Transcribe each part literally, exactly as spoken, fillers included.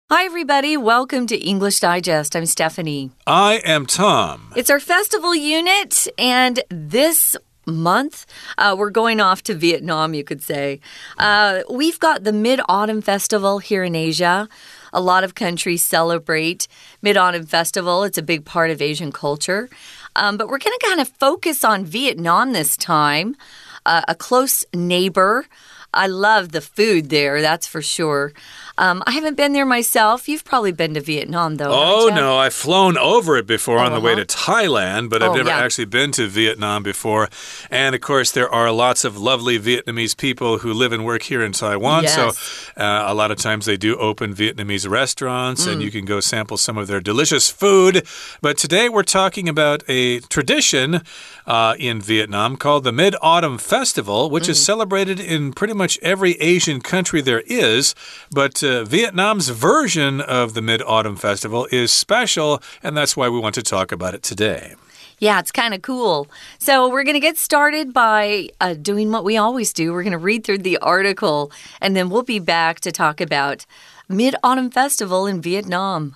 Hi, everybody. Welcome to English Digest. I'm Stephanie. I am Tom. It's our festival unit, and this month, uh, we're going off to Vietnam, you could say. Uh, we've got the Mid-Autumn Festival here in Asia. A lot of countries celebrate Mid-Autumn Festival. It's a big part of Asian culture. Um, but we're going to kind of focus on Vietnam this time, uh, a close neighbor. I love the food there, that's for sure. Um, I haven't been there myself. You've probably been to Vietnam, though. Oh, no. I've flown over it before oh, on the uh-huh. way to Thailand, but I've oh, never yeah. actually been to Vietnam before. And, of course, there are lots of lovely Vietnamese people who live and work here in Taiwan. Yes. So uh, a lot of times they do open Vietnamese restaurants, mm. and you can go sample some of their delicious food. But today we're talking about a tradition uh, in Vietnam called the Mid-Autumn Festival, which mm. is celebrated in pretty much every Asian country there is. But uh, Vietnam's version of the Mid-Autumn Festival is special, and that's why we want to talk about it today. Yeah, it's kind of cool. So we're going to get started by uh, doing what we always do. We're going to read through the article, and then we'll be back to talk about Mid-Autumn Festival in Vietnam.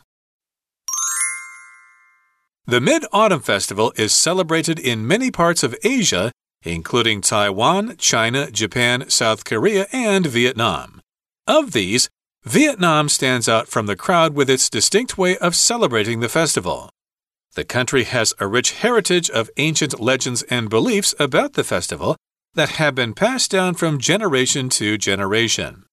The Mid-Autumn Festival is celebrated in many parts of Asia, including Taiwan, China, Japan, South Korea, and Vietnam. Of these, Vietnam stands out from the crowd with its distinct way of celebrating the festival. The country has a rich heritage of ancient legends and beliefs about the festival that have been passed down from generation to generation.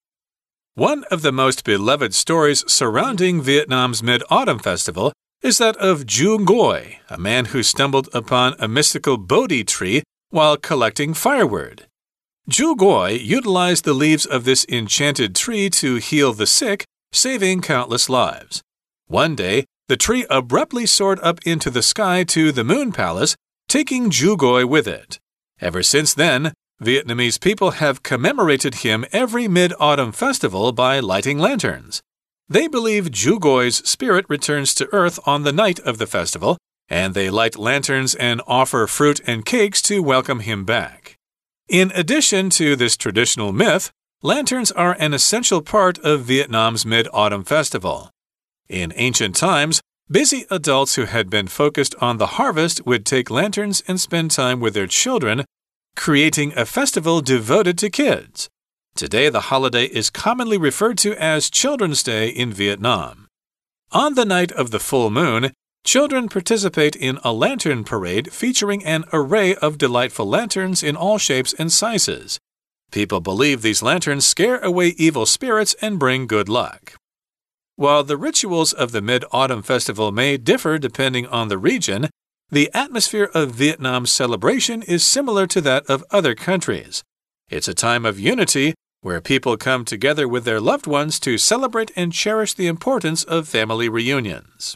One of the most beloved stories surrounding Vietnam's Mid-Autumn Festival is that of Ju Ngoi, a man who stumbled upon a mystical Bodhi tree while collecting firewood. Ju Ngoi utilized the leaves of this enchanted tree to heal the sick, saving countless lives. One day, the tree abruptly soared up into the sky to the Moon Palace, taking Ju Ngoi with it. Ever since then, Vietnamese people have commemorated him every Mid-Autumn Festival by lighting lanterns. They believe Ju Ngoi's spirit returns to Earth on the night of the festival, and they light lanterns and offer fruit and cakes to welcome him back. In addition to this traditional myth, lanterns are an essential part of Vietnam's Mid-Autumn Festival. In ancient times, busy adults who had been focused on the harvest would take lanterns and spend time with their children, creating a festival devoted to kids. Today, the holiday is commonly referred to as Children's Day in Vietnam. On the night of the full moon, children participate in a lantern parade featuring an array of delightful lanterns in all shapes and sizes. People believe these lanterns scare away evil spirits and bring good luck. While the rituals of the Mid-Autumn Festival may differ depending on the region, the atmosphere of Vietnam's celebration is similar to that of other countries. It's a time of unity where people come together with their loved ones to celebrate and cherish the importance of family reunions.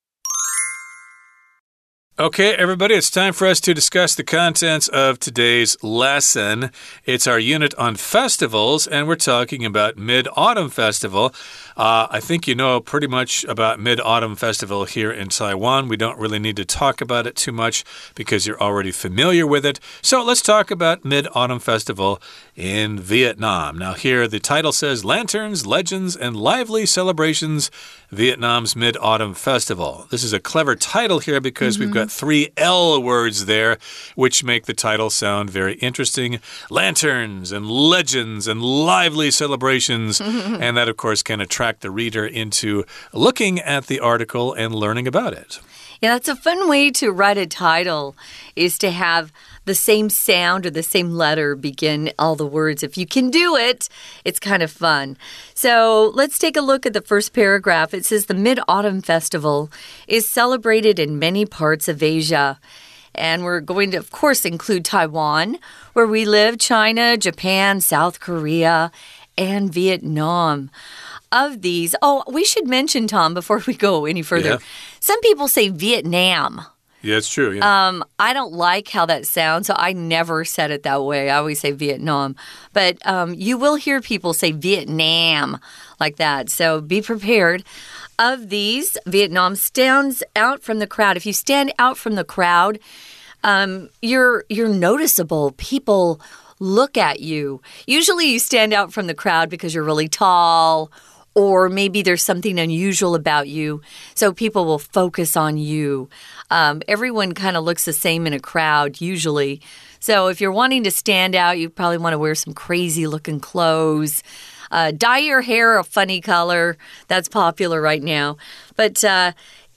Okay, everybody, it's time for us to discuss the contents of today's lesson. It's our unit on festivals, and we're talking about Mid-Autumn Festival. Uh, I think you know pretty much about Mid-Autumn Festival here in Taiwan. We don't really need to talk about it too much because you're already familiar with it. So let's talk about Mid-Autumn Festival in Vietnam. Now here the title says Lanterns, Legends, and Lively Celebrations, Vietnam's Mid-Autumn Festival. This is a clever title here because mm-hmm. we've got three L words there, which make the title sound very interesting. Lanterns and legends and lively celebrations. And that, of course, can attract the reader into looking at the article and learning about it. Yeah, that's a fun way to write a title, is to have the same sound or the same letter begin all the words. If you can do it, it's kind of fun. So let's take a look at the first paragraph. It says the Mid-Autumn Festival is celebrated in many parts of Asia. And we're going to, of course, include Taiwan, where we live, China, Japan, South Korea, and Vietnam. Of these, oh, we should mention, Tom, before we go any further, yeah. Some people say Vietnam. Yeah, it's true. Yeah. Um, I don't like how that sounds, so I never said it that way. I always say Vietnam. But um, you will hear people say Vietnam like that, so be prepared. Of these, Vietnam stands out from the crowd. If you stand out from the crowd, um, you're you're noticeable. People look at you. Usually you stand out from the crowd because you're really tall or maybe there's something unusual about you, so people will focus on you. Um, everyone kind of looks the same in a crowd, usually. So if you're wanting to stand out, you probably want to wear some crazy-looking clothes. Uh, dye your hair a funny color. That's popular right now. But uh,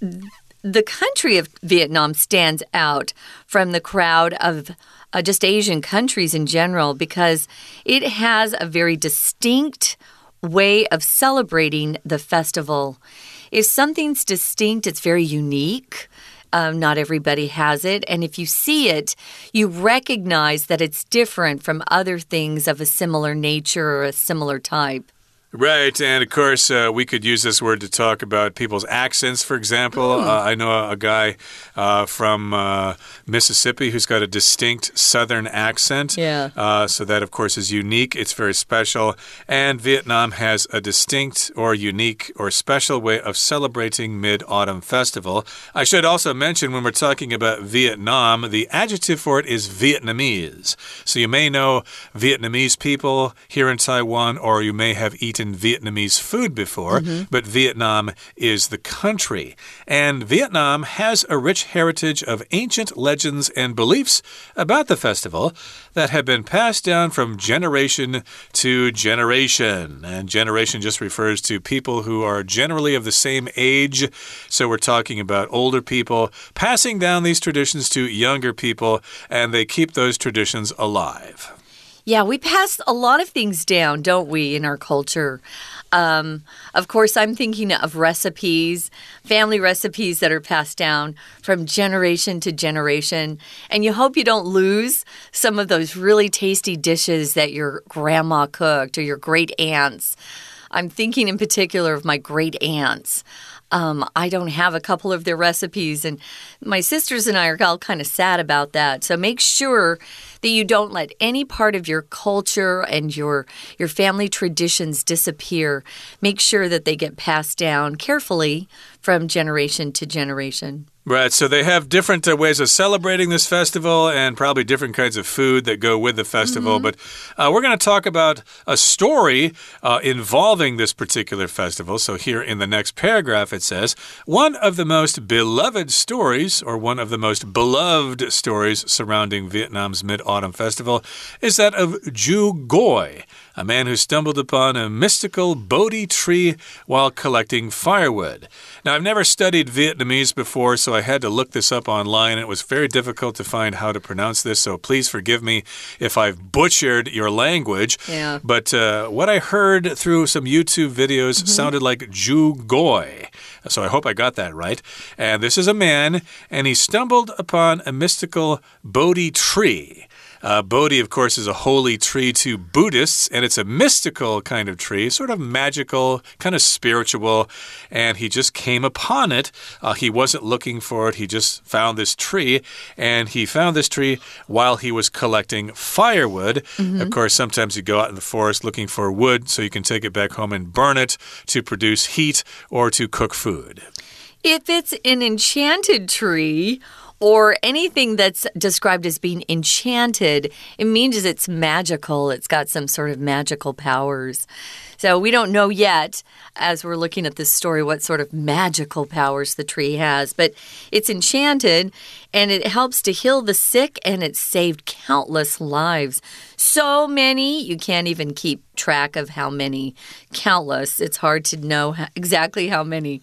the country of Vietnam stands out from the crowd of uh, just Asian countries in general because it has a very distinct way of celebrating the festival. If something's distinct, it's very unique. Um, not everybody has it. And if you see it, you recognize that it's different from other things of a similar nature or a similar type. Right, and of course, uh, we could use this word to talk about people's accents, for example. Mm. Uh, I know a, a guy uh, from uh, Mississippi who's got a distinct southern accent. Yeah. Uh, so that, of course, is unique. It's very special. And Vietnam has a distinct or unique or special way of celebrating Mid-Autumn Festival. I should also mention when we're talking about Vietnam, the adjective for it is Vietnamese. So you may know Vietnamese people here in Taiwan, or you may have eaten Vietnamese food before, mm-hmm. but Vietnam is the country. And Vietnam has a rich heritage of ancient legends and beliefs about the festival that have been passed down from generation to generation. And generation just refers to people who are generally of the same age. So we're talking about older people passing down these traditions to younger people, and they keep those traditions alive. Yeah, we pass a lot of things down, don't we, in our culture? Um, of course, I'm thinking of recipes, family recipes that are passed down from generation to generation. And you hope you don't lose some of those really tasty dishes that your grandma cooked or your great aunts. I'm thinking in particular of my great aunts. Um, I don't have a couple of their recipes, and my sisters and I are all kind of sad about that. So make sure that you don't let any part of your culture and your your family traditions disappear. Make sure that they get passed down carefully from generation to generation. Right, so they have different uh, ways of celebrating this festival and probably different kinds of food that go with the festival. Mm-hmm. But uh, we're going to talk about a story uh, involving this particular festival. So here in the next paragraph it says, one of the most beloved stories, or one of the most beloved stories surrounding Vietnam's Mid-Autumn Festival is that of Ju Goi, a man who stumbled upon a mystical Bodhi tree while collecting firewood. Now, I've never studied Vietnamese before, so I had to look this up online. It was very difficult to find how to pronounce this, so please forgive me if I've butchered your language. Yeah. But uh, what I heard through some YouTube videos mm-hmm. sounded like Ju Goi. So I hope I got that right. And this is a man, and he stumbled upon a mystical Bodhi tree. Uh, Bodhi, of course, is a holy tree to Buddhists, and it's a mystical kind of tree, sort of magical, kind of spiritual, and he just came upon it. Uh, he wasn't looking for it. He just found this tree, and he found this tree while he was collecting firewood. Mm-hmm. Of course, sometimes you go out in the forest looking for wood so you can take it back home and burn it to produce heat or to cook food. If it's an enchanted tree, or anything that's described as being enchanted, it means it's magical. It's got some sort of magical powers. So we don't know yet, as we're looking at this story, what sort of magical powers the tree has. But it's enchanted, and it helps to heal the sick, and it saved countless lives. So many, you can't even keep track of how many. Countless. It's hard to know exactly how many.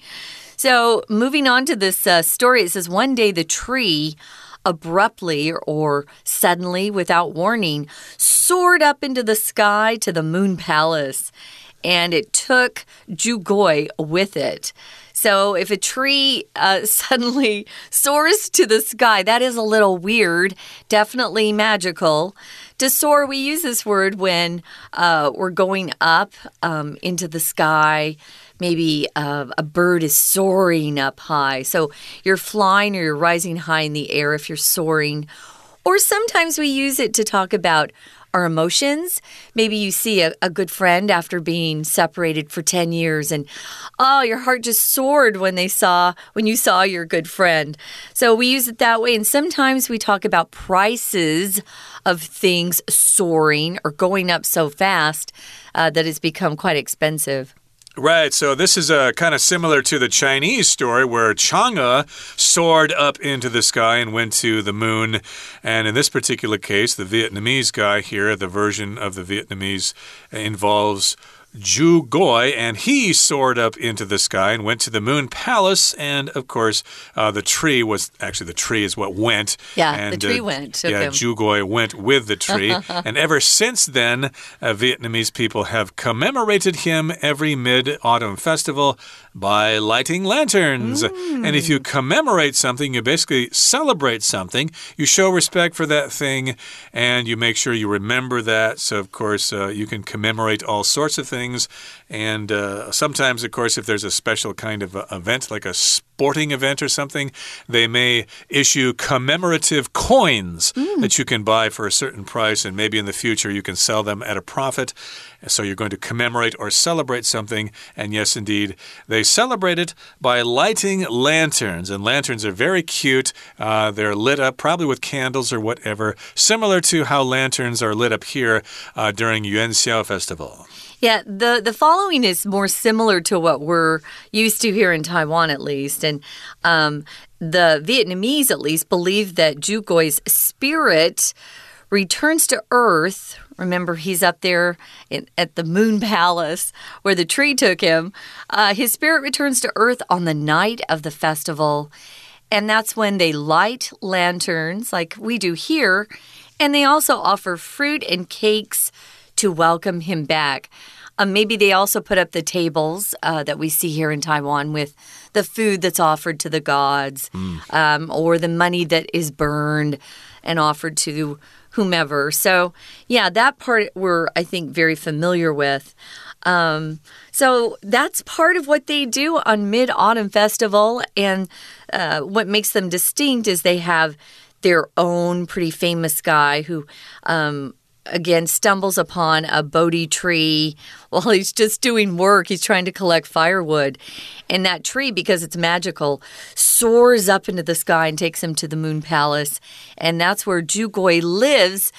So moving on to this uh, story, it says one day the tree abruptly or suddenly, without warning, soared up into the sky to the Moon Palace, and it took Ju Goi with it. So if a tree uh, suddenly soars to the sky, that is a little weird, definitely magical. To soar, we use this word when uh, we're going up um, into the sky. Maybe uh, a bird is soaring up high. So you're flying or you're rising high in the air if you're soaring. Or sometimes we use it to talk about our emotions. Maybe you see a, a good friend after being separated for ten years and, oh, your heart just soared when they saw, when you saw your good friend. So we use it that way. And sometimes we talk about prices of things soaring or going up so fast uh, that it's become quite expensive. Right, so this is uh, kind of similar to the Chinese story where Chang'e soared up into the sky and went to the moon. And in this particular case, the Vietnamese guy here, the version of the Vietnamese involves Zhu Goi, and he soared up into the sky and went to the moon palace. And of course, uh, the tree was actually the tree is what went. Yeah, and, the tree uh, went. Yeah, okay. Zhu Goi went with the tree. And ever since then, uh, Vietnamese people have commemorated him every mid-autumn festival by lighting lanterns. Mm. And if you commemorate something, you basically celebrate something. You show respect for that thing, and you make sure you remember that. So, of course, uh, you can commemorate all sorts of things. And uh, sometimes, of course, if there's a special kind of uh, event, like a sporting event or something, they may issue commemorative coins mm. that you can buy for a certain price, and maybe in the future you can sell them at a profit. So you're going to commemorate or celebrate something, and yes, indeed, they celebrate it by lighting lanterns, and lanterns are very cute. Uh, they're lit up probably with candles or whatever, similar to how lanterns are lit up here uh, during Yuan Xiao Festival. Yeah, the, the following is more similar to what we're used to here in Taiwan, at least. And um, the Vietnamese, at least, believe that Zhu Goi's spirit returns to Earth. Remember, he's up there in, at the Moon Palace where the tree took him. Uh, his spirit returns to Earth on the night of the festival. And that's when they light lanterns like we do here. And they also offer fruit and cakes to welcome him back. Um, maybe they also put up the tables uh, that we see here in Taiwan with the food that's offered to the gods mm. um, or the money that is burned and offered to whomever. So, yeah, that part we're, I think, very familiar with. Um, so that's part of what they do on Mid-Autumn Festival. And uh, what makes them distinct is they have their own pretty famous guy who... Um, again, stumbles upon a Bodhi tree while he's just doing work. He's trying to collect firewood. And that tree, because it's magical, soars up into the sky and takes him to the Moon Palace. And that's where Zhu Goi lives,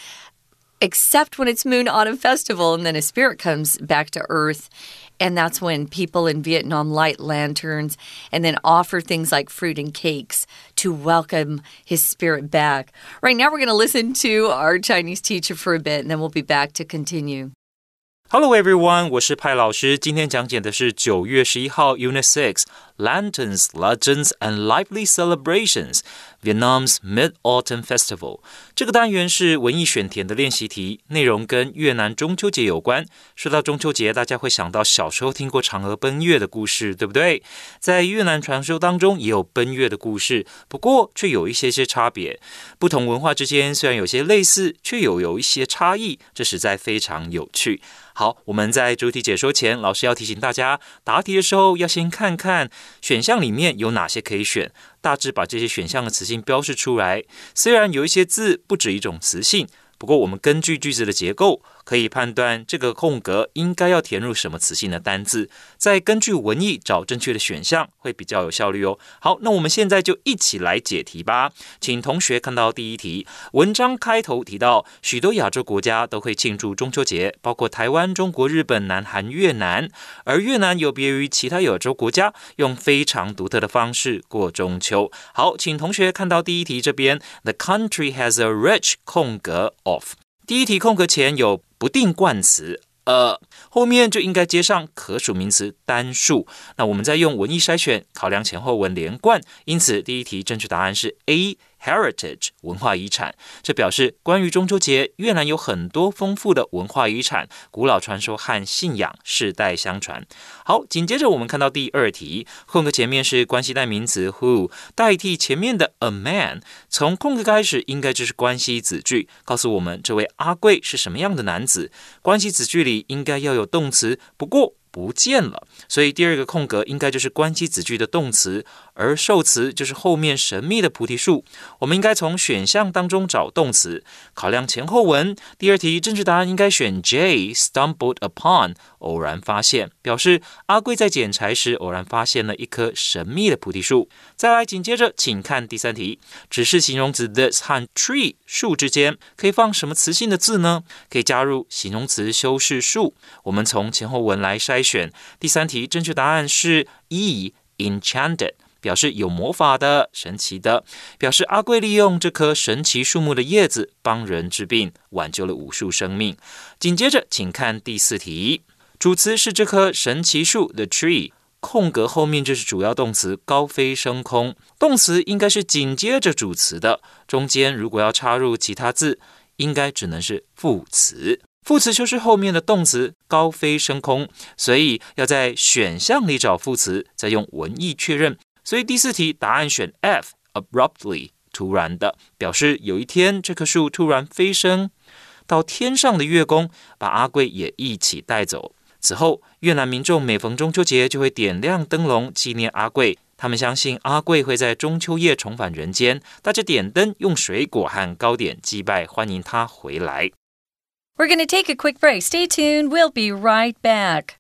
except when it's Moon Autumn Festival. And then his spirit comes back to Earth. And that's when people in Vietnam light lanterns and then offer things like fruit and cakes to welcome his spirit back. Right now, we're going to listen to our Chinese teacher for a bit, and then we'll be back to continue. Hello everyone, 我是派老師，今天講解的是九月十一號 Unit six Lanterns, Legends and Lively Celebrations Vietnam's Mid-Autumn Festival 這個單元是文藝選填的練習題，內容跟越南中秋節有關。說到中秋節，大家會想到小時候聽過嫦娥奔月的故事，對不對？在越南傳說當中也有奔月的故事，不過卻有一些些差別。不同文化之間雖然有些類似，卻又有一些差異，這實在非常有趣。好，我們在主題解說前，老師要提醒大家，答題的時候要先看看選項裡面有哪些可以選，大致把這些選項的詞性標示出來。雖然有一些字不止一種詞性，不過我們根據句子的結構，可以判斷這個空格應該要填入什麼詞性的單字，再根據文意找正確的選項，會比較有效率哦。好，那我們現在就一起來解題吧。請同學看到第一題，文章開頭提到許多亞洲國家都會慶祝中秋節，包括台灣、中國、日本、南韓、越南。而越南有別於其他亞洲國家，用非常獨特的方式過中秋。好，請同學看到第一題這邊 ，The country has a rich 空格 of。第一題空格前有不定冠詞，呃，後面就應該接上可數名詞單數。那我們再用文意篩選，考量前後文連貫，因此第一題正確答案是 A。Heritage 文化遺產，這表示關於中秋節，越南有很多豐富的文化遺產、古老傳說和信仰世代相傳。好，緊接着我們看到第二題，空格前面是關係代名詞 who 代替前面的 a man， 從空格開始應該就是關係子句，告訴我們這位阿貴是什麼樣的男子。關係子句裡應該要有動詞，不過不見了，所以第二個空格應該就是關係子句的動詞， 而受詞就是後面神秘的菩提樹。我們應該從選項當中找動詞，考量前後文。第二題正確答案應該選 J stumbled upon 偶然發現，表示阿貴在撿柴時偶然發現了一棵神秘的菩提樹。再來緊接着請看第三題，指示形容詞 this 和 tree 樹之間可以放什麼詞性的字呢？可以加入形容詞修飾樹。我們從前後文來篩選。第三題正確答案是 E enchanted， 表示有魔法的、神奇的，表示阿貴利用這棵神奇樹木的葉子幫人治病，挽救了無數生命。緊接着請看第四題，主詞是這棵神奇樹 the tree， 空格後面就是主要動詞高飛升空，動詞應該是緊接着主詞的，中間如果要插入其他字，應該只能是副詞。副詞就是後面的動詞高飛升空，所以要在選項裡找副詞，再用文意確認。所以第四題答案選 F abruptly 突然的，表示有一天這棵樹突然飛升到天上的月宮，把阿貴也一起帶走。此後越南民眾每逢中秋節就會點亮燈籠紀念阿貴，他們相信阿貴會在中秋夜重返人間，大家點燈用水果和糕點祭拜，歡迎他回來。 We're going to take a quick break. Stay tuned. We'll be right back.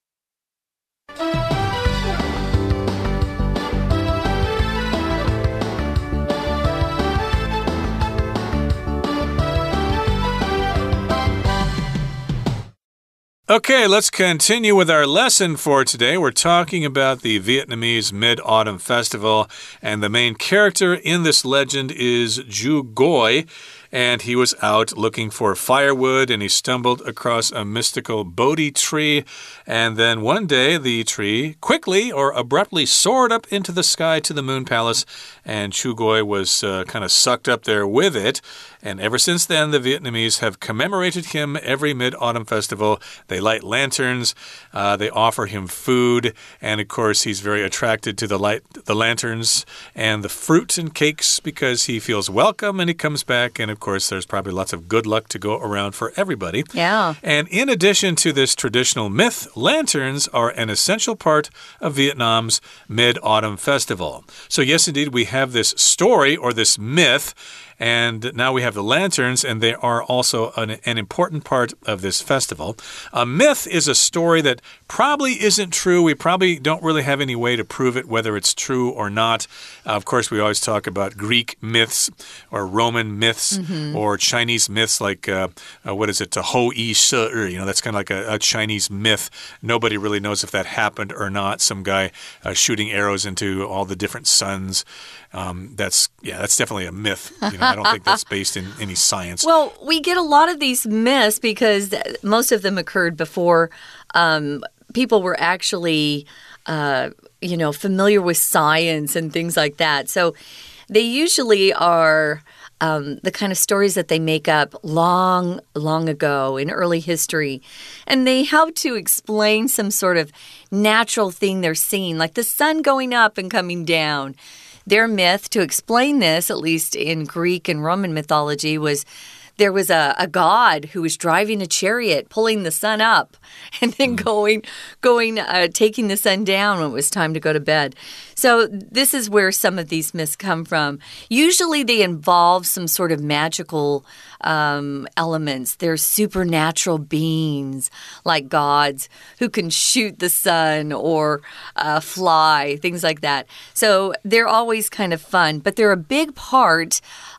Okay, let's continue with our lesson for today. We're talking about the Vietnamese Mid-Autumn Festival, and the main character in this legend is Ju Goi. And he was out looking for firewood, and he stumbled across a mystical Bodhi tree. And then one day, the tree quickly or abruptly soared up into the sky to the Moon Palace, and Chu Goi was uh, kind of sucked up there with it. And ever since then, the Vietnamese have commemorated him every Mid-Autumn Festival. They light lanterns, uh, they offer him food, and of course, he's very attracted to the light, the lanterns and the fruit and cakes because he feels welcome, and he comes back, and of Of course, there's probably lots of good luck to go around for everybody. Yeah. And in addition to this traditional myth, lanterns are an essential part of Vietnam's Mid-Autumn Festival. So yes, indeed, we have this story or this myth. And now we have the lanterns, and they are also an, an important part of this festival. A myth is a story that probably isn't true. We probably don't really have any way to prove it, whether it's true or not. Uh, of course, we always talk about Greek myths or Roman myths mm-hmm. or Chinese myths like, uh, uh, what is it, Ho Yi She Er. You know, that's kind of like a, a Chinese myth. Nobody really knows if that happened or not. Some guy uh, shooting arrows into all the different suns. Um, that's, yeah, that's definitely a myth. You know, I don't think that's based in any science. Well, we get a lot of these myths because most of them occurred before um, people were actually, uh, you know, familiar with science and things like that. So they usually are um, the kind of stories that they make up long, long ago in early history. And they help to explain some sort of natural thing they're seeing, like the sun going up and coming down. Their myth, to explain this, at least in Greek and Roman mythology, was there was a, a god who was driving a chariot, pulling the sun up, and then going, going, uh, taking the sun down when it was time to go to bed. So this is where some of these myths come from. Usually they involve some sort of magical um, elements. They're supernatural beings, like gods, who can shoot the sun or uh, fly, things like that. So they're always kind of fun, but they're a big part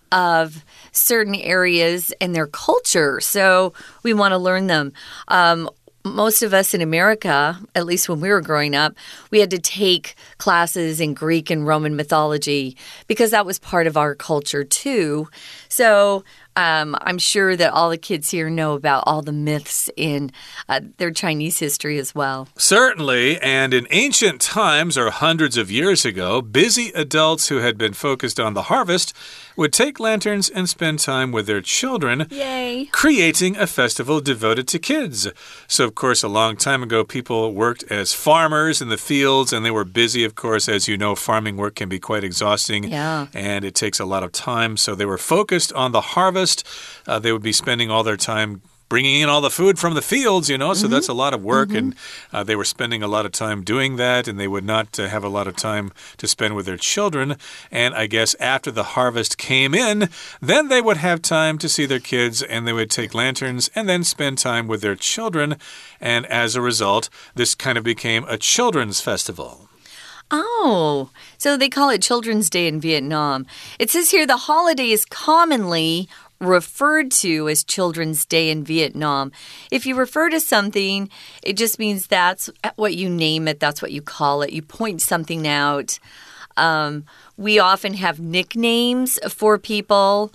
of certain areas and their culture. So we want to learn them. Um, most of us in America, at least when we were growing up, we had to take classes in Greek and Roman mythology because that was part of our culture too. So Um, I'm sure that all the kids here know about all the myths in uh, their Chinese history as well. Certainly, and in ancient times, or hundreds of years ago, busy adults who had been focused on the harvest would take lanterns and spend time with their children, Yay. creating a festival devoted to kids. So, of course, a long time ago, people worked as farmers in the fields, and they were busy, of course. As you know, farming work can be quite exhausting, yeah. and it takes a lot of time. So they were focused on the harvest. Uh, they would be spending all their time bringing in all the food from the fields, you know, so mm-hmm. that's a lot of work. Mm-hmm. And uh, they were spending a lot of time doing that, and they would not uh, have a lot of time to spend with their children. And I guess after the harvest came in, then they would have time to see their kids, and they would take lanterns and then spend time with their children. And as a result, this kind of became a children's festival. Oh, so they call it Children's Day in Vietnam. It says here the holiday is commonly referred to as Children's Day in Vietnam. If you refer to something, it just means that's what you name it, that's what you call it. You point something out. Um, we often have nicknames for people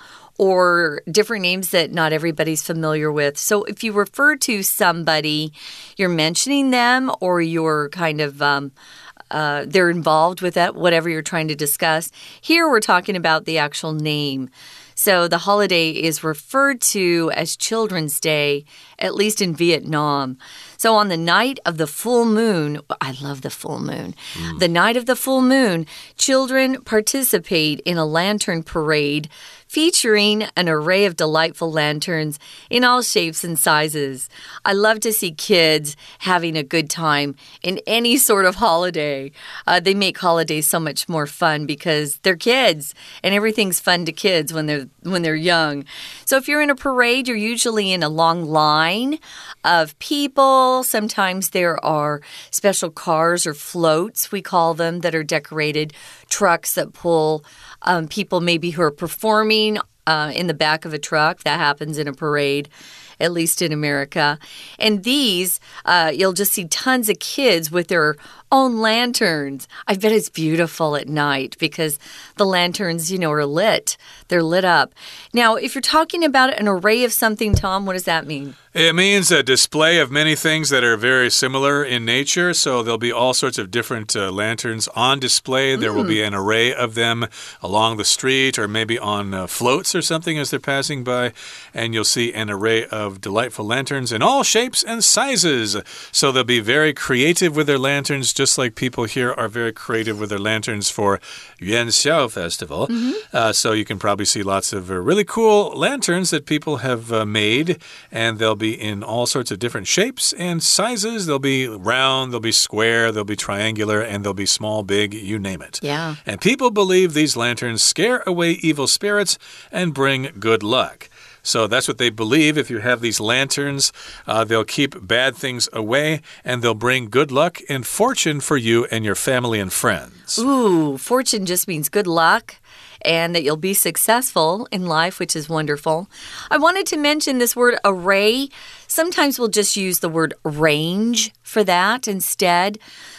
or different names that not everybody's familiar with. So if you refer to somebody, you're mentioning them or you're kind of... Um, Uh, they're involved with that, whatever you're trying to discuss. Here we're talking about the actual name. So the holiday is referred to as Children's Day, at least in Vietnam. So on the night of the full moon, I love the full moon. Mm. The night of the full moon, children participate in a lantern parade featuring an array of delightful lanterns in all shapes and sizes. I love to see kids having a good time in any sort of holiday. Uh, they make holidays so much more fun because they're kids, and everything's fun to kids when they're when they're young. So if you're in a parade, you're usually in a long line of people. Sometimes there are special cars or floats, we call them, that are decorated, trucks that pull um, people maybe who are performing uh, in the back of a truck. That happens in a parade, at least in America. And these, uh, you'll just see tons of kids with their own lanterns. I bet it's beautiful at night because the lanterns, you know, are lit. They're lit up. Now, if you're talking about an array of something, Tom, what does that mean? It means a display of many things that are very similar in nature. So there'll be all sorts of different uh, lanterns on display. There mm. will be an array of them along the street or maybe on uh, floats or something as they're passing by. And you'll see an array of delightful lanterns in all shapes and sizes. So they'll be very creative with their lanterns, just like people here are very creative with their lanterns for Yuan Xiao Festival. Mm-hmm. uh, so you can probably see lots of uh, really cool lanterns that people have uh, made, and they'll be in all sorts of different shapes and sizes. They'll be round, they'll be square, they'll be triangular, and they'll be small, big, you name it. Yeah. And people believe these lanterns scare away evil spirits and bring good luck. So that's what they believe. If you have these lanterns, uh, they'll keep bad things away, and they'll bring good luck and fortune for you and your family and friends. Ooh, fortune just means good luck and that you'll be successful in life, which is wonderful. I wanted to mention this word array. Sometimes we'll just use the word range for that instead.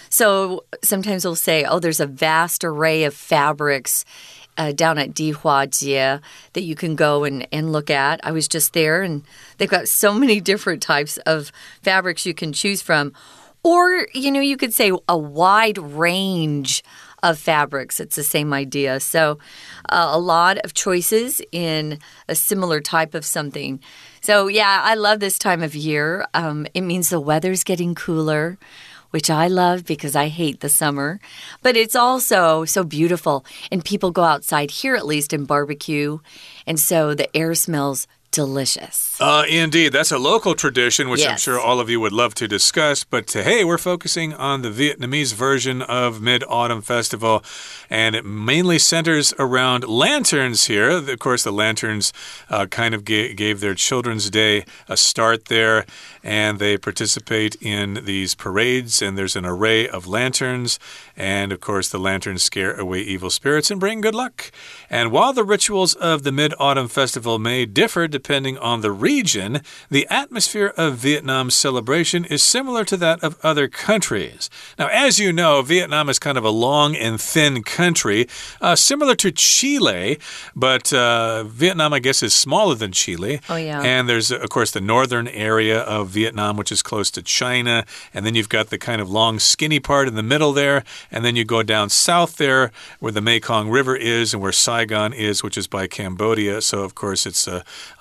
So sometimes we'll say, oh, there's a vast array of fabrics Uh, down at Dihuajie that you can go and, and look at. I was just there, and they've got so many different types of fabrics you can choose from. Or, you know, you could say a wide range of fabrics. It's the same idea. So uh, a lot of choices in a similar type of something. So, yeah, I love this time of year. Um, it means the weather's getting cooler, which I love because I hate the summer. But it's also so beautiful. And people go outside here, at least, and barbecue. And so the air smells delicious. Uh, indeed. That's a local tradition, which yes. I'm sure all of you would love to discuss. But uh, hey, we're focusing on the Vietnamese version of Mid-Autumn Festival, and it mainly centers around lanterns here. Of course, the lanterns uh, kind of ga gave their Children's Day a start there, and they participate in these parades, and there's an array of lanterns. And, of course, the lanterns scare away evil spirits and bring good luck. And while the rituals of the Mid-Autumn Festival may differ depending on the region, the atmosphere of Vietnam's celebration is similar to that of other countries. Now, as you know, Vietnam is kind of a long and thin country, uh, similar to Chile, but uh, Vietnam, I guess, is smaller than Chile. Oh, yeah. And there's, of course, the northern area of Vietnam, which is close to China. And then you've got the kind of long, skinny part in the middle there. And then you go down south there where the Mekong River is and where Saigon is, which is by Cambodia. So, of course, it's a, a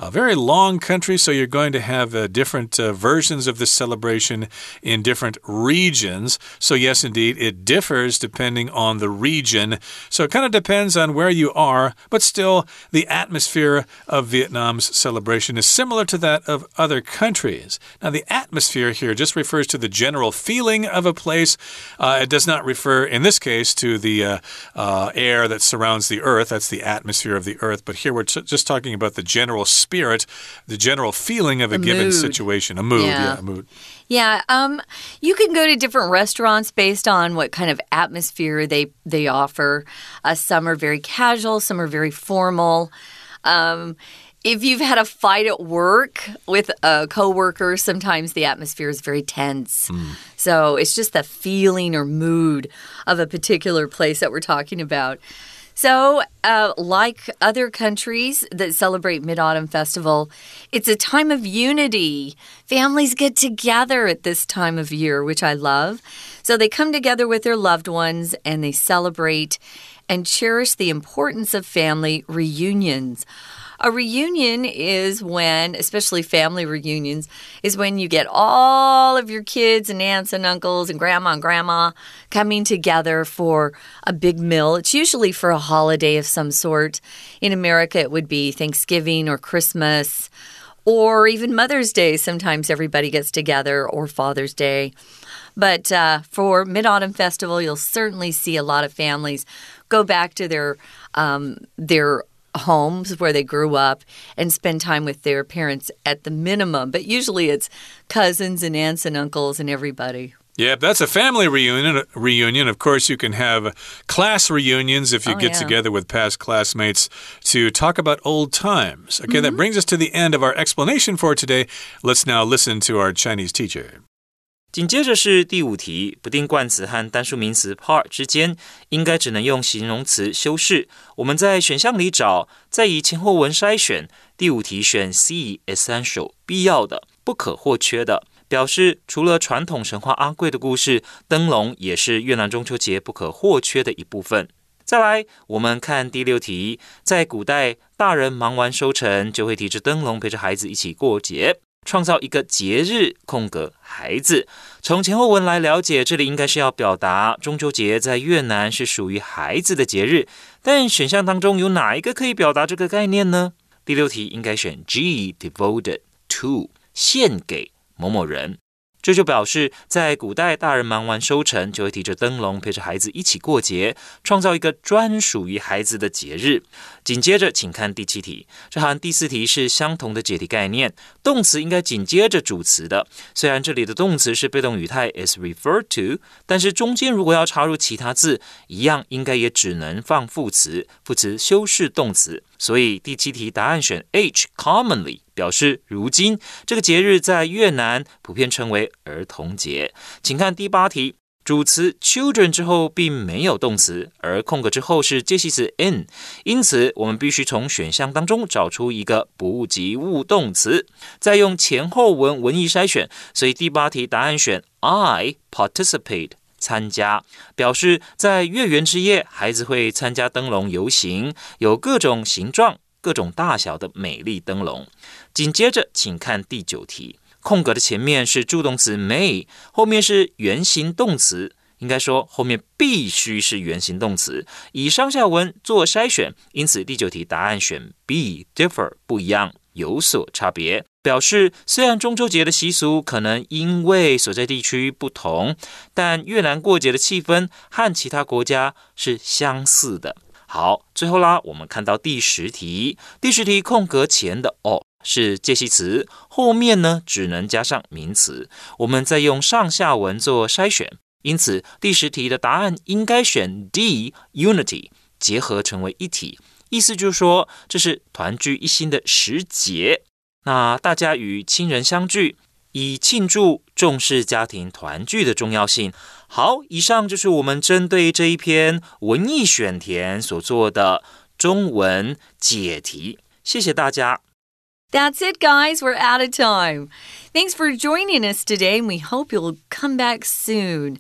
a very long country, so you're going to have uh, different uh, versions of this celebration in different regions. So yes, indeed, it differs depending on the region. So it kind of depends on where you are, but still, the atmosphere of Vietnam's celebration is similar to that of other countries. Now, the atmosphere here just refers to the general feeling of a place. Uh, it does not refer, in this case, to the uh, uh, air that surrounds the earth. That's the atmosphere of the earth. But here we're just talking about the general spirit, the general feeling of a, a given mood. situation. A mood, yeah. yeah, a mood. Yeah, um, you can go to different restaurants based on what kind of atmosphere they, they offer. Uh, some are very casual, some are very formal. Um, if you've had a fight at work with a coworker, sometimes the atmosphere is very tense. Mm. So it's just the feeling or mood of a particular place that we're talking about. So, uh, like other countries that celebrate Mid-Autumn Festival, it's a time of unity. Families get together at this time of year, which I love. So they come together with their loved ones and they celebrate and cherish the importance of family reunions. A reunion is when, especially family reunions, is when you get all of your kids and aunts and uncles and grandma and grandma coming together for a big meal. It's usually for a holiday of some sort. In America, it would be Thanksgiving or Christmas or even Mother's Day. Sometimes everybody gets together, or Father's Day. But uh, for Mid-Autumn Festival, you'll certainly see a lot of families go back to their um, their homes where they grew up and spend time with their parents at the minimum. But usually it's cousins and aunts and uncles and everybody. Yeah, that's a family reunion. Reunion. Of course, you can have class reunions if you oh, get yeah. together with past classmates to talk about old times. Okay, mm-hmm. That brings us to the end of our explanation for today. Let's now listen to our Chinese teacher. 緊接着是第五題，不定冠詞和單數名詞 part 之間應該只能用形容詞修飾。我們在選項裡找，再以前後文篩選。第五題選 C essential 必要的、不可或缺的，表示除了傳統神話阿貴的故事，燈籠也是越南中秋節不可或缺的一部分。再來，我們看第六題，在古代，大人忙完收成，就會提着燈籠陪着孩子一起過節。創造一個節日空格孩子，從前後文來了解，這裡應該是要表達中秋節在越南是屬於孩子的節日，但選項當中有哪一個可以表達這個概念呢？第六題應該選 G devoted to 獻給某某人，這就表示在古代大人忙完收成就會提着燈籠陪着孩子一起過節，創造一個專屬於孩子的節日。緊接着請看第七題，這和第四題是相同的解題概念，動詞應該緊接着主詞的，雖然這裡的動詞是被動語態 is referred to， 但是中間如果要插入其他字，一樣應該也只能放副詞，副詞修飾動詞，所以第七題答案選 H commonly， 表示如今這個節日在越南普遍稱為兒童節。請看第八題，主詞 children 之後並沒有動詞，而空格之後是介系詞 in， 因此我們必須從選項當中找出一個不及物動詞，再用前後文文意篩選，所以第八題答案選 I participate， 參加，表示在月圓之夜，孩子會參加燈籠遊行，有各種形狀、各種大小的美麗燈籠。緊接着請看第九題，空格的前面是助動詞 may， 後面是原形動詞，應該說後面必須是原形動詞，以上下文做篩選，因此第九題答案選 B differ 不一樣，有所差別，表示雖然中秋節的習俗可能因為所在地區不同，但越南過節的氣氛和其他國家是相似的。好，最後啦，我們看到第十題，第十題空格前的哦是介系詞，後面呢只能加上名詞，我們再用上下文做篩選，因此第十題的答案應該選 D unity， 結合成為一體，意思就是說這是團聚一心的時節，那大家與親人相聚，以慶祝重視家庭團聚的重要性。好，以上就是我們針對這一篇文意選填所做的中文解題，謝謝大家。 That's it, guys. We're out of time. Thanks for joining us today, and we hope you'll come back soon.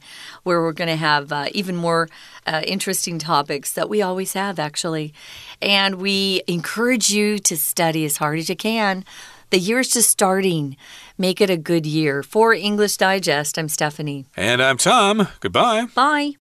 where we're going to have uh, even more uh, interesting topics that we always have, actually. And we encourage you to study as hard as you can. The year's just starting. Make it a good year. For English Digest, I'm Stephanie. And I'm Tom. Goodbye. Bye.